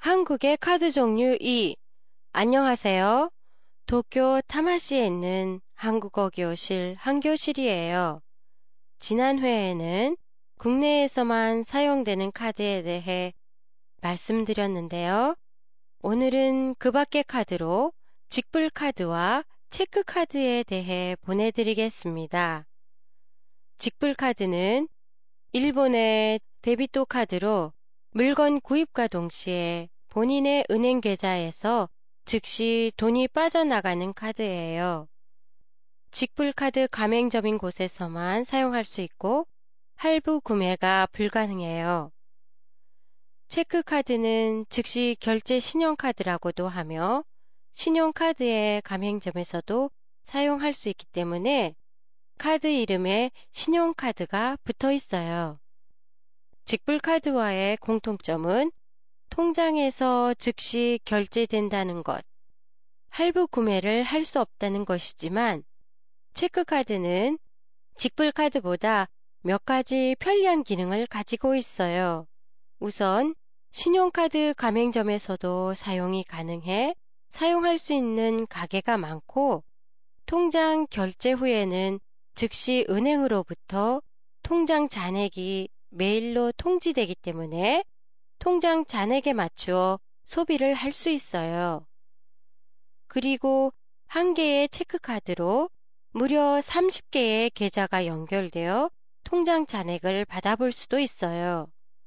한국의 카드 종류 2. 안녕하세요. 도쿄 타마시에 있는 한국어 교실 한교실이에요. 지난 회에는 국내에서만 사용되는 카드에 대해 말씀드렸는데요. 오늘은 그 밖의 카드로 직불 카드와 체크 카드에 대해 보내드리겠습니다. 직불 카드는 일본의 데비토 카드로 물건 구입과 동시에 본인의 은행 계좌에서 즉시 돈이 빠져나가는 카드예요. 직불 카드 가맹점인 곳에서만 사용할 수 있고 할부 구매가 불가능해요. 체크 카드는 즉시 결제 신용카드라고도 하며 신용카드의 가맹점에서도 사용할 수 있기 때문에 카드 이름에 신용카드가 붙어 있어요. 직불카드와의 공통점은 통장에서 즉시 결제된다는 것, 할부 구매를 할 수 없다는 것이지만 체크카드는 직불카드보다 몇 가지 편리한 기능을 가지고 있어요. 우선 신용카드 가맹점에서도 사용이 가능해 사용할 수 있는 가게가 많고 통장 결제 후에는 즉시 은행으로부터 통장 잔액이 메일로 통지되기 때문에 통장 잔액에 맞추어 소비를 할 수 있어요. 그리고 한 개의 체크카드로 무려 30개의 계좌가 연결되어 통장 잔액을 받아볼 수도 있어요.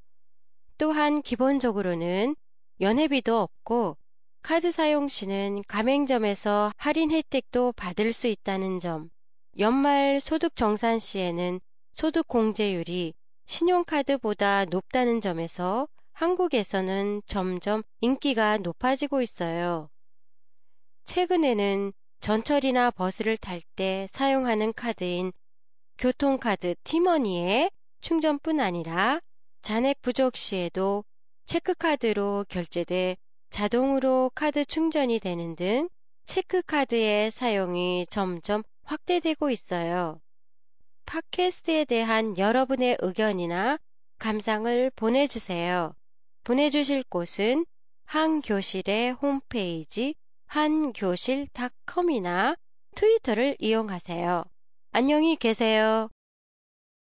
또한 기본적으로는 연회비도 없고 카드 사용 시는 가맹점에서 할인 혜택도 받을 수 있다는 점, 연말 소득 정산 시에는 소득 공제율이 신용카드보다 높다는 점에서 한국에서는 점점 인기가 높아지고 있어요. 최근에는 전철이나 버스를 탈 때 사용하는 카드인 교통카드 티머니의 충전뿐 아니라 잔액 부족 시에도 체크카드로 결제돼 자동으로 카드 충전이 되는 등 체크카드의 사용이 점점 확대되고 있어요. 팟캐스트에 대한 여러분의 의견이나 감상을 보내주세요. 보내주실 곳은 한교실의 홈페이지 한교실.com이나 트위터를 이용하세요. 안녕히 계세요.